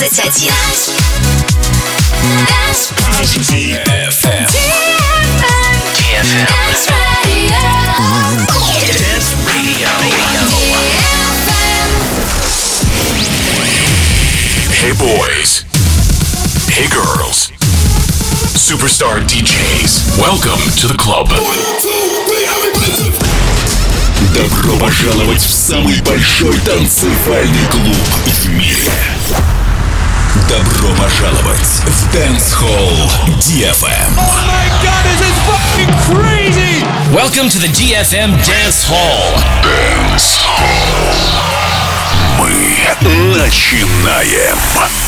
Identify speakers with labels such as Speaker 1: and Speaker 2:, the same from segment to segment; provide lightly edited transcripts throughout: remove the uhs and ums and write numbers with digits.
Speaker 1: 21.
Speaker 2: Hey boys. Hey girls. Superstar DJs. Welcome to the club.
Speaker 3: Добро пожаловать в самый большой танцевальный клуб в мире. Добро пожаловать в Dance Hall DFM.
Speaker 4: Oh my god, this is fucking crazy!
Speaker 5: Welcome to the DFM Dance Hall.
Speaker 3: Dance Hall. Мы начинаем.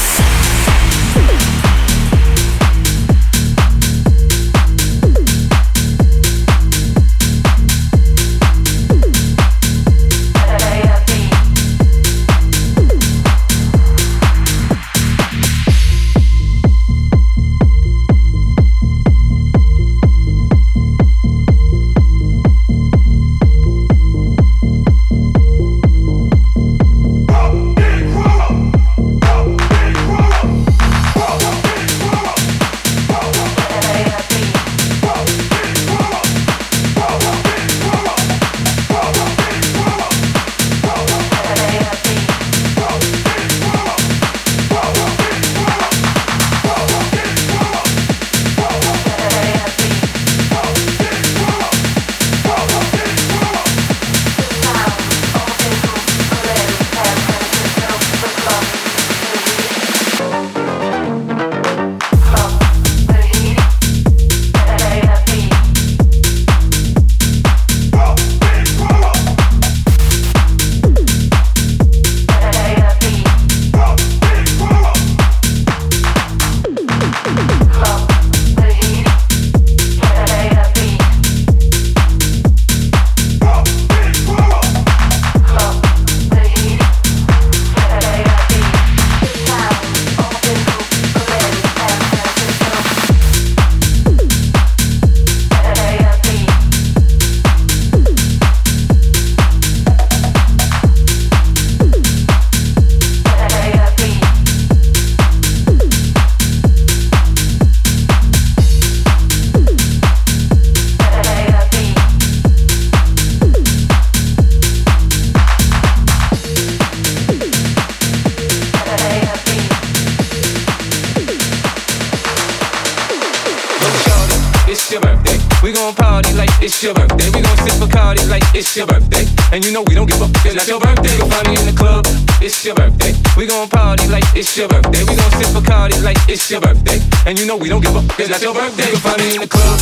Speaker 4: It's your birthday, we gon' sip Bacardi like it's your birthday. And you know we don't give up, it's not your birthday. You'll find me in the club, it's your birthday. We gon' party like it's your birthday. We gon' sip Bacardi like it's your birthday. And you know we don't give up, it's not your birthday. You'll find me in the club.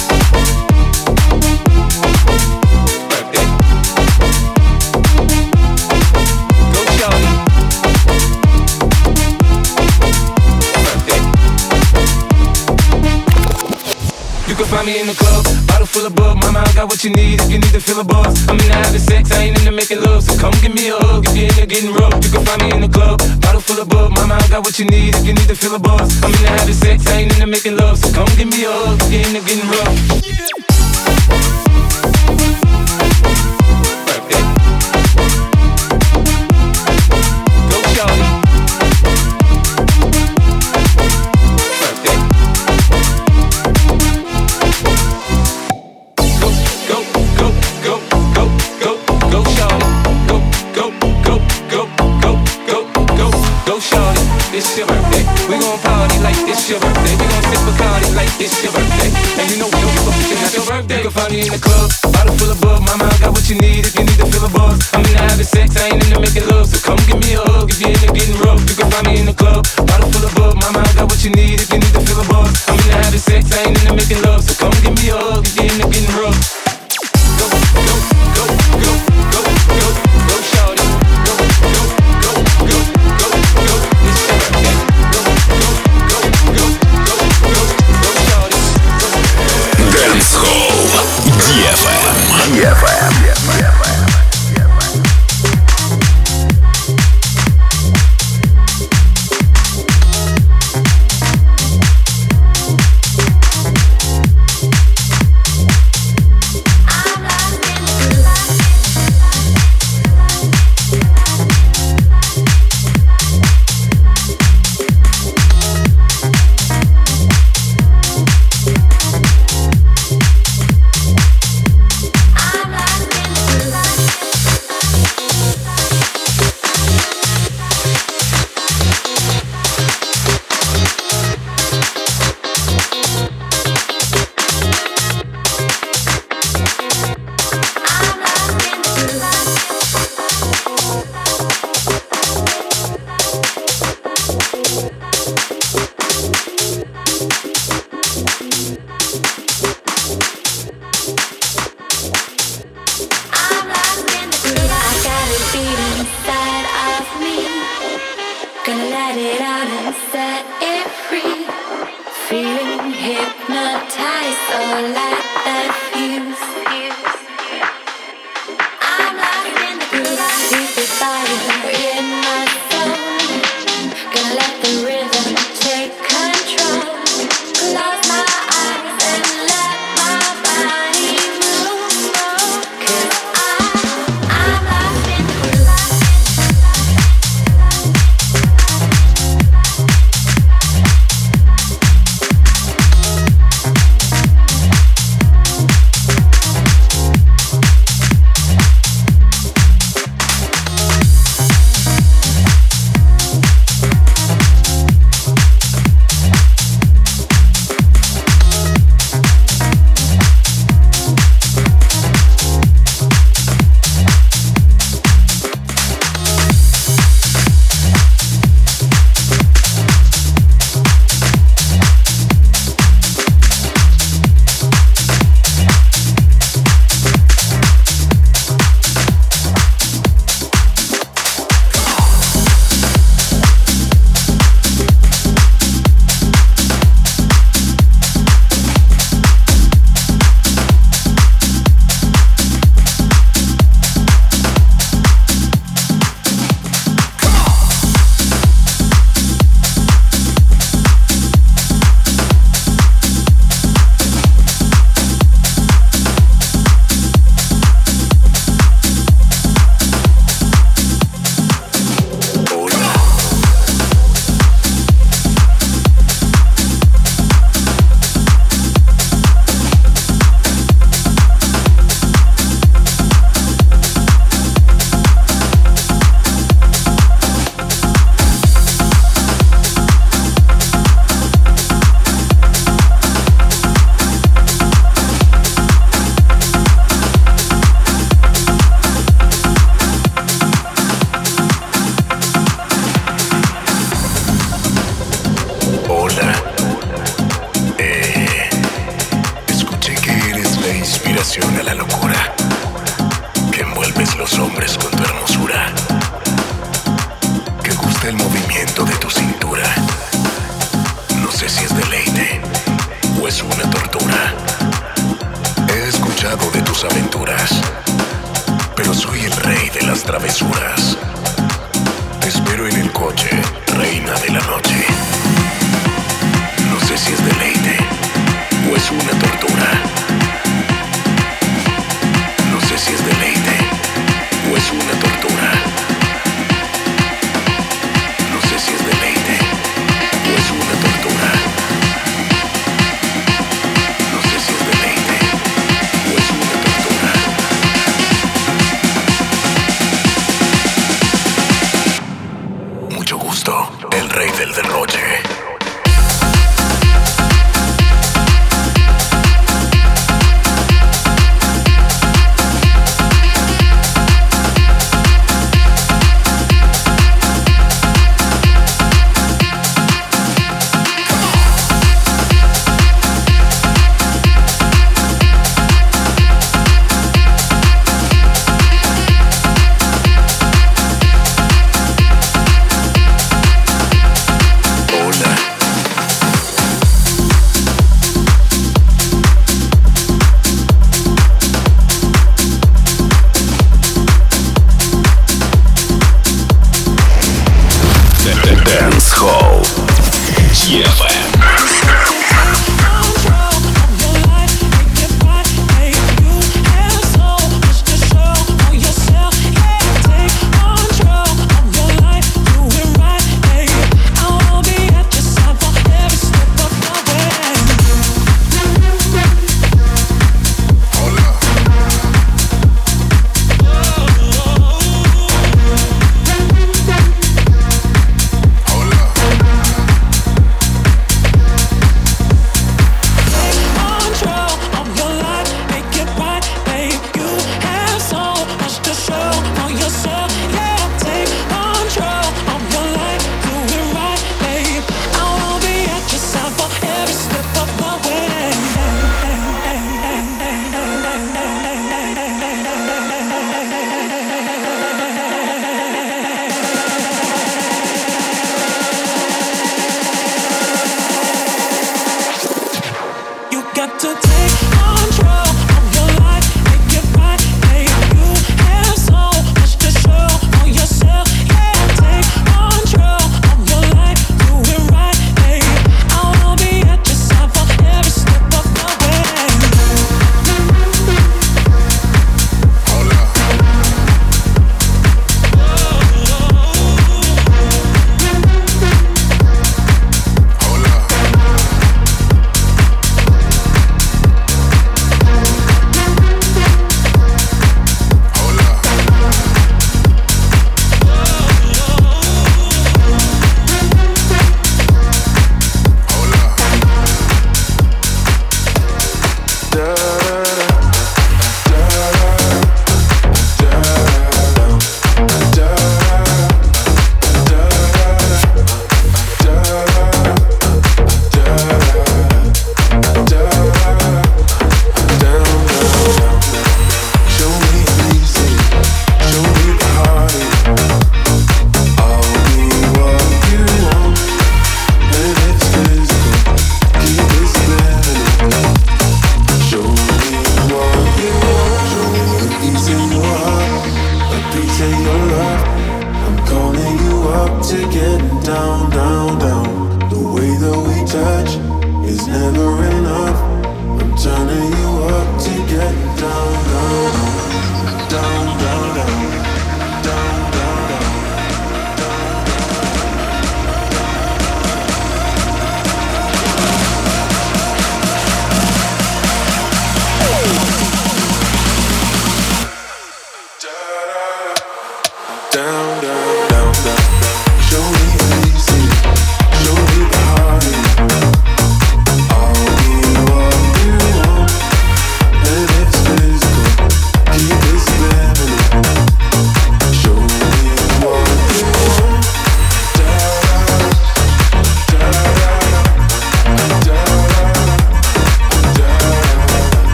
Speaker 4: Birthday. Go Charlie. Birthday. You can find me in the club, bottle full of bub. Mama, I got what you need if you need to feel a buzz. I'm into having sex, I ain't into making love. So come give me a hug if you're into getting rough. You can find me in the club, bottle full of bub. Mama, I got what you need if you need to feel a buzz. I'm into having sex, I ain't into making love. So come give me a hug if you're into getting rough. Birthday. Go Charlie. Birthday. Go shorty, go shorty, it's your birthday. We gon' party like it's your birthday. We gon' sip Bacardi like it's your birthday. And you know we don't give up, it's not your birthday. You can find me in the club, bottle full of bub. Mama, I got what you need if you need to feel a buzz. I'm into having sex, I ain't into making love. So come give me a hug if you're into getting rough. You can find me in the club, bottle full of bub. Mama, I got what you need if you need to feel a buzz. I'm into having sex, I ain't into making love. So come give me a hug if you're into getting rough. Go, go, go, go, go, go, go, shorty. Go, go, go, go, go, go. It's your birthday. Go, go, go, go, go, go, go, shorty.
Speaker 3: Dance Hall DFM.
Speaker 1: I'm lost in the
Speaker 3: a la locura que envuelves los hombres con tu hermosura, que gusta el movimiento de tu cintura. No sé si es deleite o es una tortura. He escuchado de tus aventuras, pero soy el rey de las travesuras. Te espero en el coche, reina de la noche. No sé si es deleite o es una tortura. No sé si es deleite o es una tortura. No sé si es deleite o es una tortura. No sé si es deleite o es una tortura. Mucho gusto.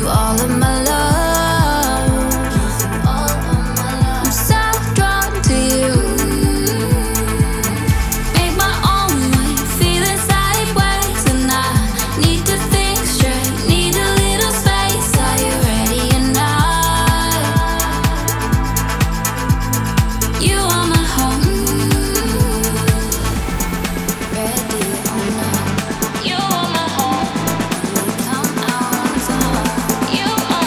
Speaker 1: You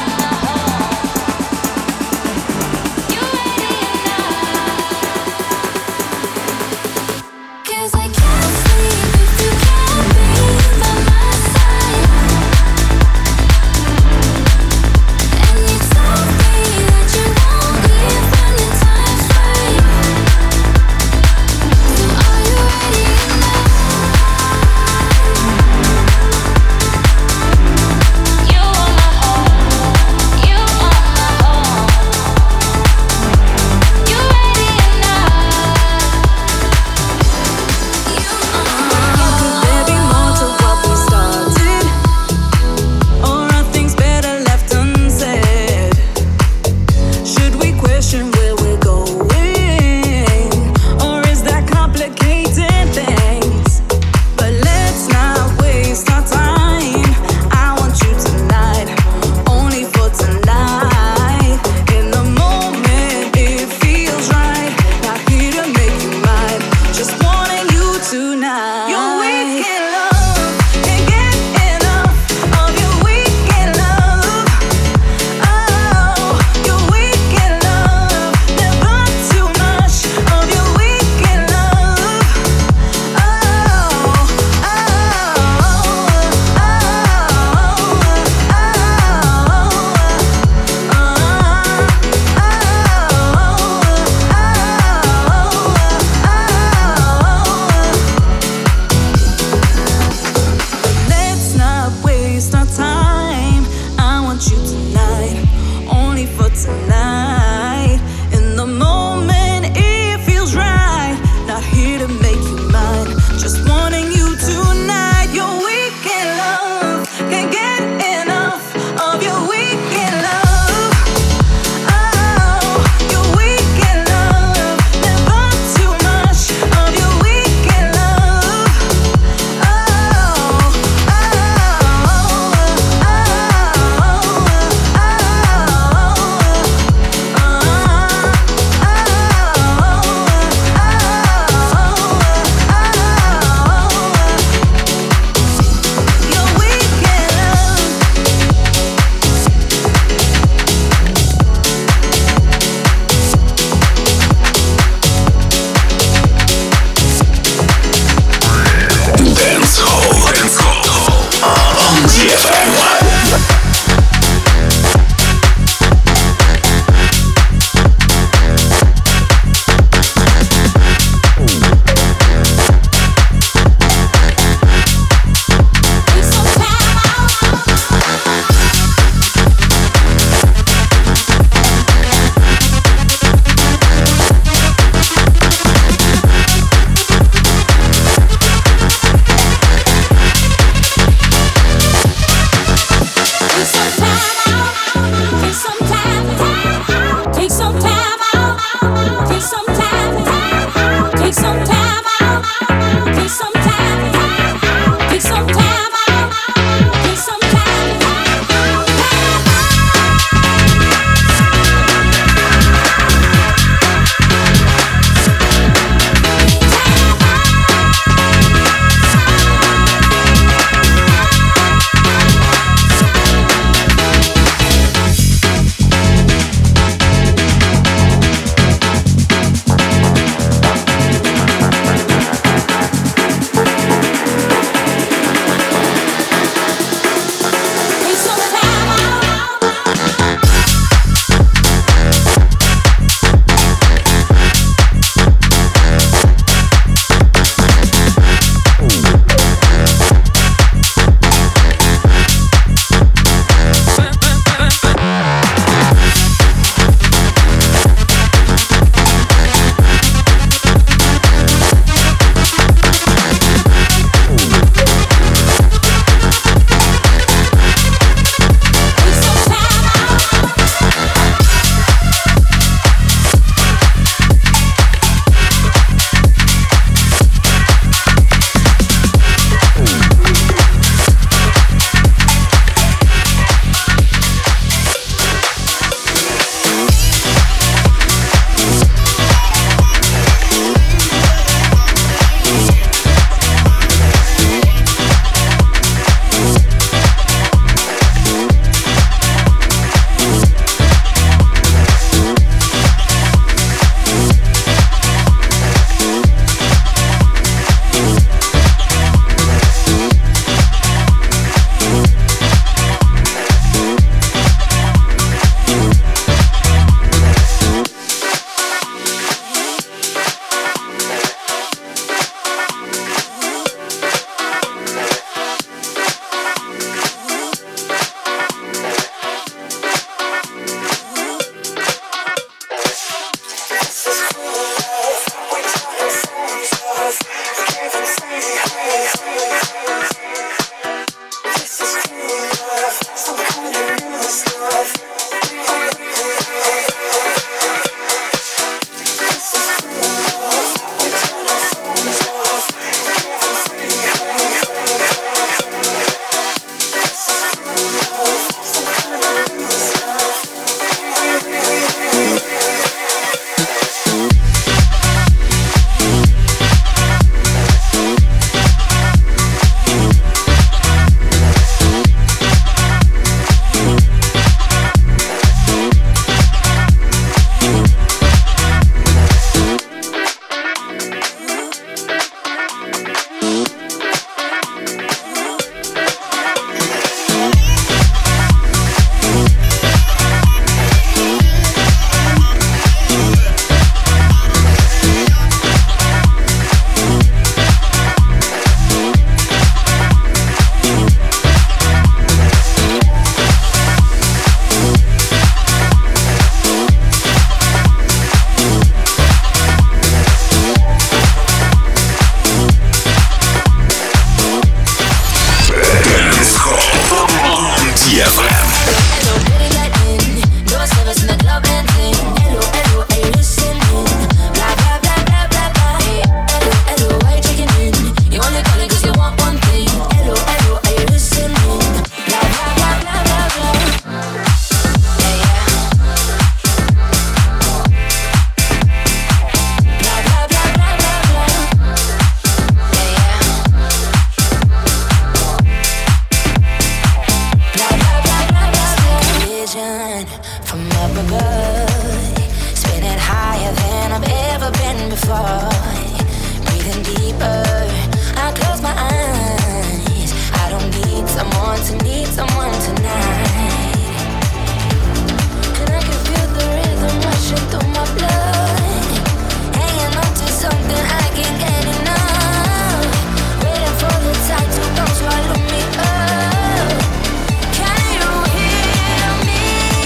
Speaker 1: before. Breathing deeper, I close my eyes. I don't need someone tonight. And I can feel the rhythm rushing through my blood, hanging on to something I can't get enough. Waiting for the tide to come swallow me up. Can you hear me?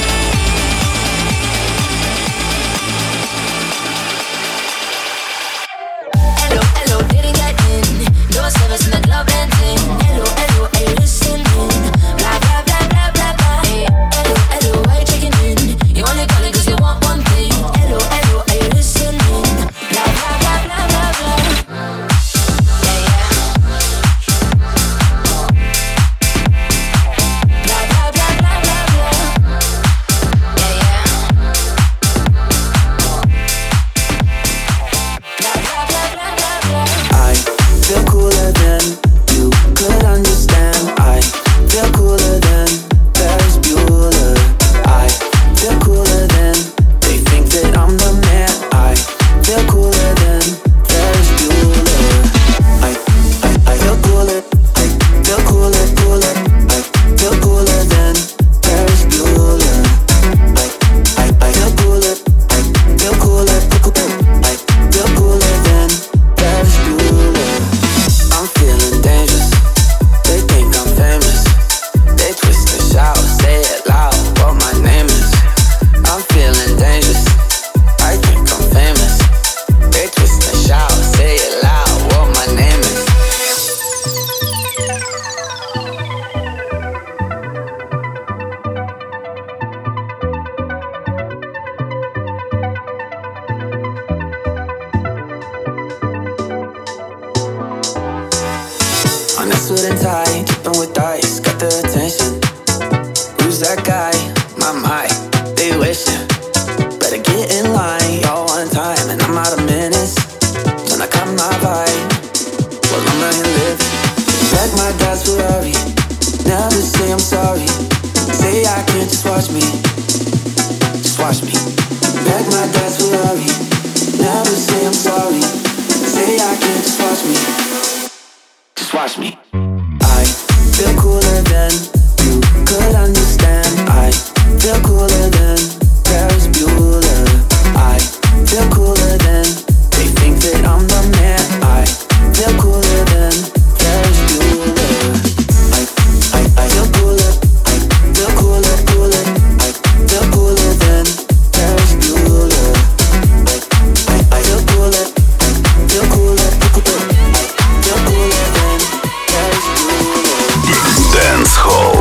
Speaker 1: Hello, hello, didn't get in. No service in the club and thing. Hello, hello, are you listening? Blah, blah, blah, blah, blah, blah. Hey, hello, hello, why you checking in? You only calling 'cause you want one thing. Hello, hello, are you listening? Blah, blah, blah, blah, blah, blah. Yeah, yeah. Blah, blah, blah, blah, blah, blah. Yeah, yeah. Blah, blah, blah, blah, blah, blah.
Speaker 6: I feel cooler than you could understand. I feel cooler than Ferris Bueller. I feel cooler than they think that I'm the man. I feel cooler than Ferris Bueller. I feel cooler. I feel cooler, cooler. I feel cooler than Ferris Bueller. I feel cooler. I feel cooler, cooler. I feel cooler than Ferris Bueller. I'm feeling dangerous. They think I'm famous. They twist and shout, say it loud, what my name is. I'm feeling dangerous. I think I'm famous. They twist and shout, say it loud, what my name is. On a suit and tie, keeping with ice, got the attention. Who's that guy? My, they wishing. Better get in line, y'all one time, and I'm out of minutes. When I cut my vibe, well I'm running live. Back my dad's Ferrari, never say I'm sorry. Say I can't just watch me, just watch me. Back my dad's Ferrari, never say I'm sorry. Say I can't just watch me. Just watch me. I feel cooler than you could understand. I feel cooler than Ferris Bueller. I feel cooler than they think that I'm the man. I feel cooler than Ferris Bueller. I feel cooler. I feel cooler, cooler. I feel cooler than Ferris Bueller. I feel cooler. I feel cooler, cooler. I feel cooler than Ferris Bueller.
Speaker 3: Dance Hall.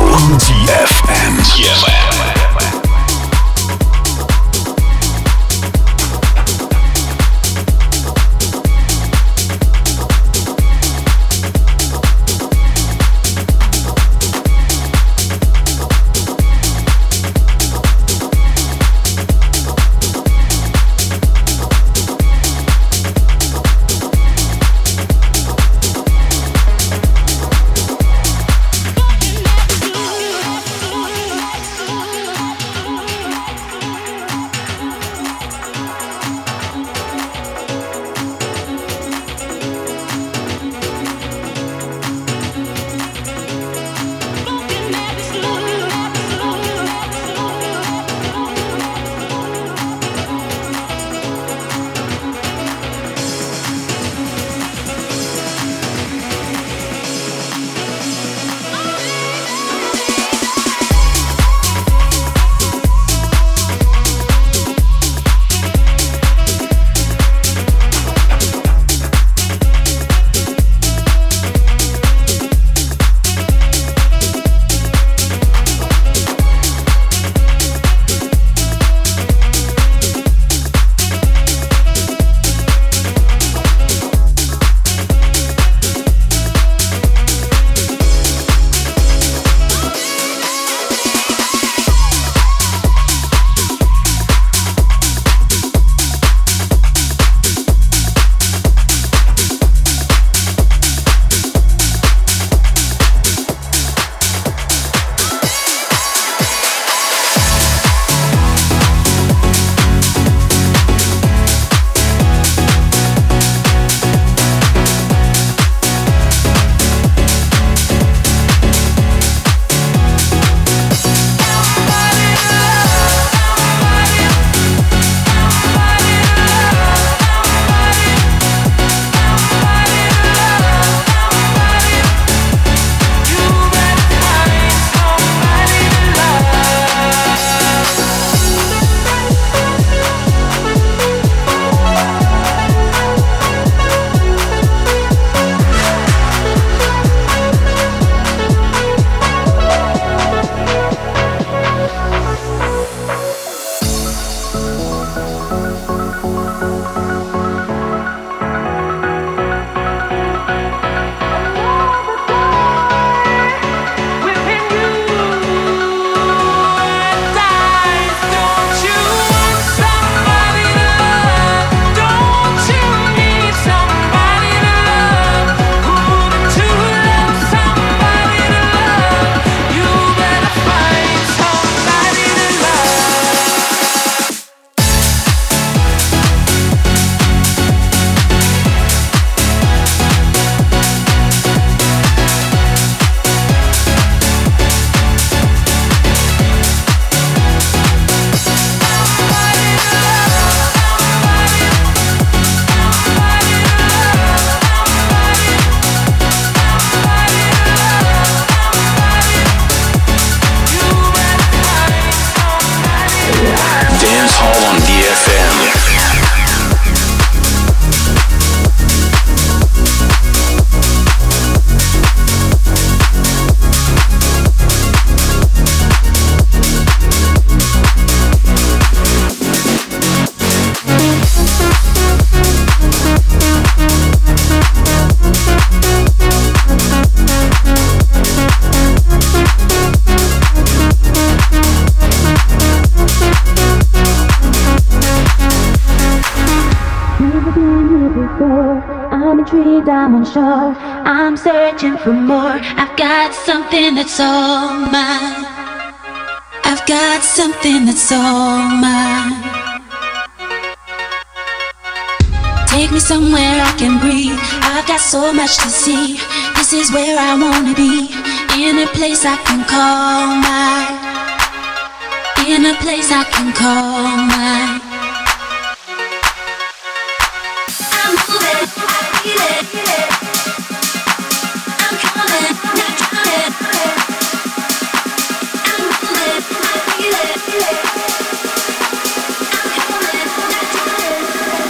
Speaker 7: me diamond shore. I'm searching for more. I've got something that's all mine. I've got something that's all mine. Take me somewhere I can breathe. I've got so much to see. This is where I wanna be. In a place I can call mine. In a place I can call mine. I'm moving, I feel it. I'm coming, not drowning. I'm moving, I feel it. I'm coming, not drowning.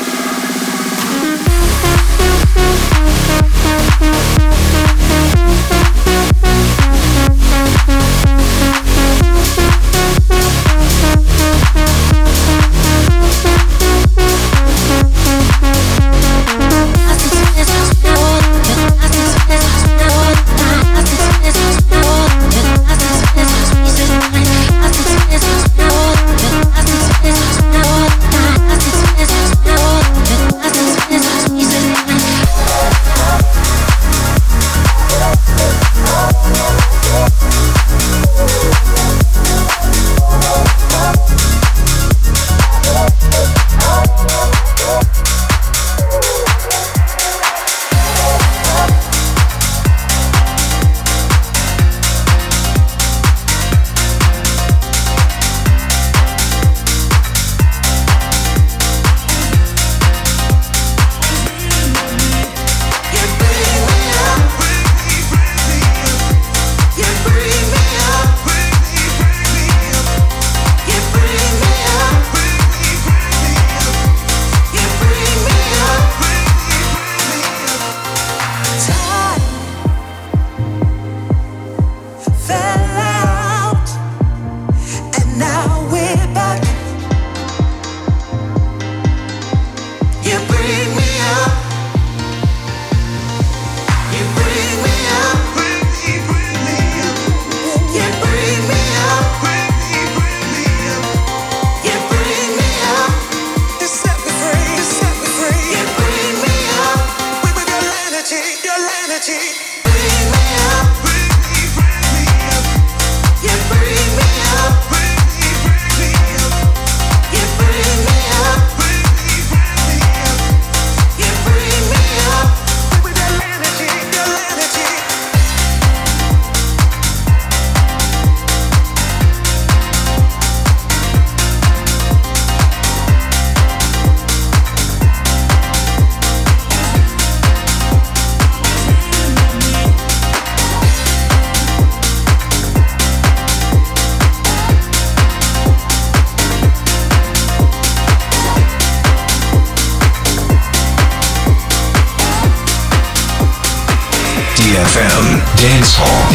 Speaker 2: DFM Dance Hall.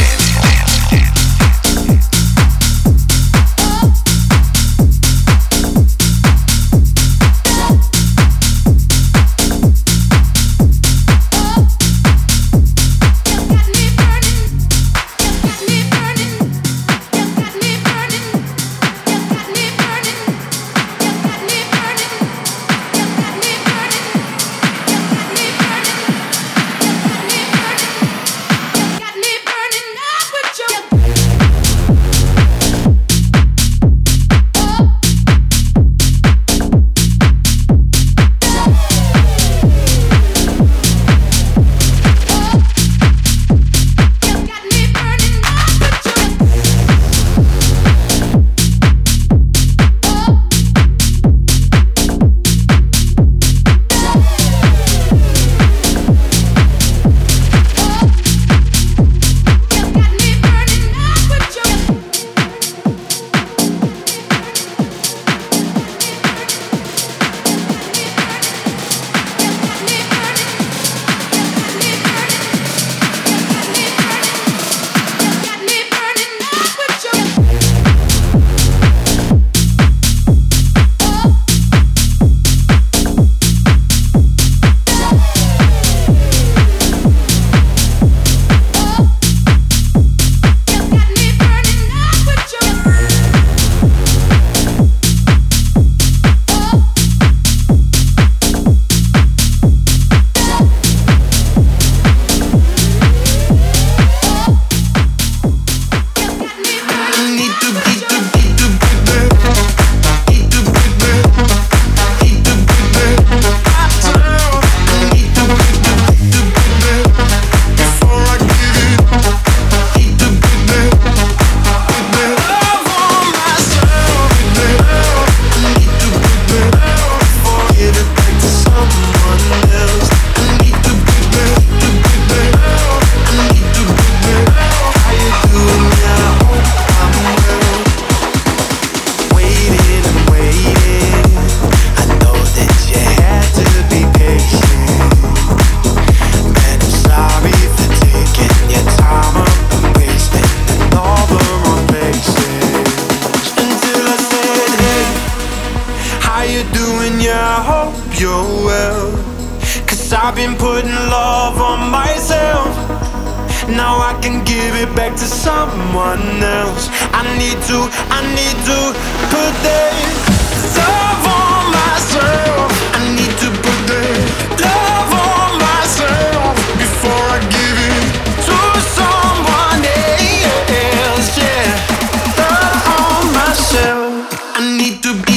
Speaker 8: Got me burning up. and yeah, I hope you're well. 'Cause I've been putting love on myself. Now I can give it back to someone else. I need to put that love on myself. I need to put that love on myself before I give it to someone else. Yeah, love on myself. I need to put that.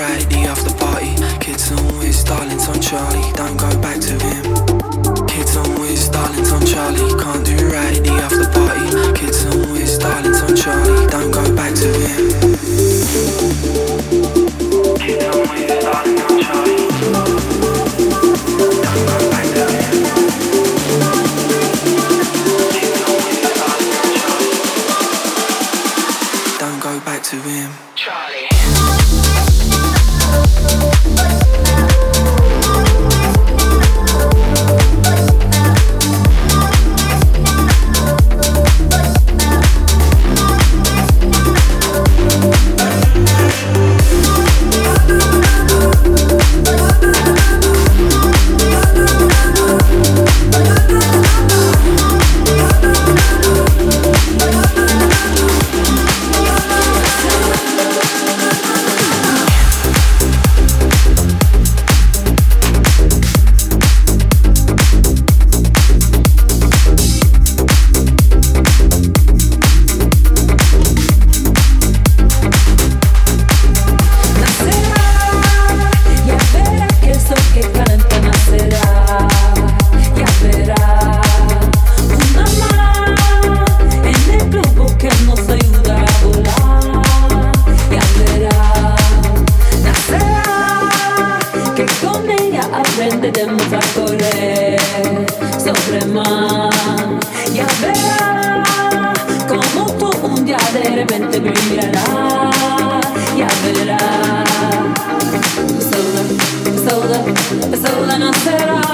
Speaker 6: right, the after party. Kids on Wiz, darlings on Charlie, don't go back to him. Kids on Wiz, darlings on Charlie, can't do right, the after party. Kids on Wiz, darlings on Charlie, don't go back to him. Kids on Wiz, darlings on Charlie, don't go back to him. Kids on Wiz, darlings on Charlie, don't go back to him. Charlie.
Speaker 9: Aprenderemos a correr sobre mar. Ya verá como tú un día de repente brillará. Ya verá, sola nacerá.